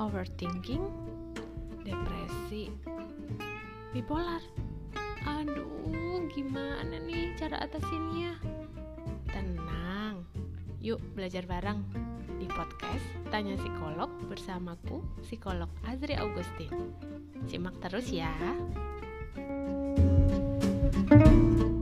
overthinking, depresi, bipolar. Aduh, gimana nih cara atasinnya? Tenang, yuk belajar bareng di podcast Tanya Psikolog bersamaku, Psikolog Azri Augustin. Simak terus ya.